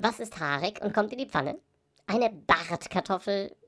Was ist haarig und kommt in die Pfanne? Eine Bartkartoffel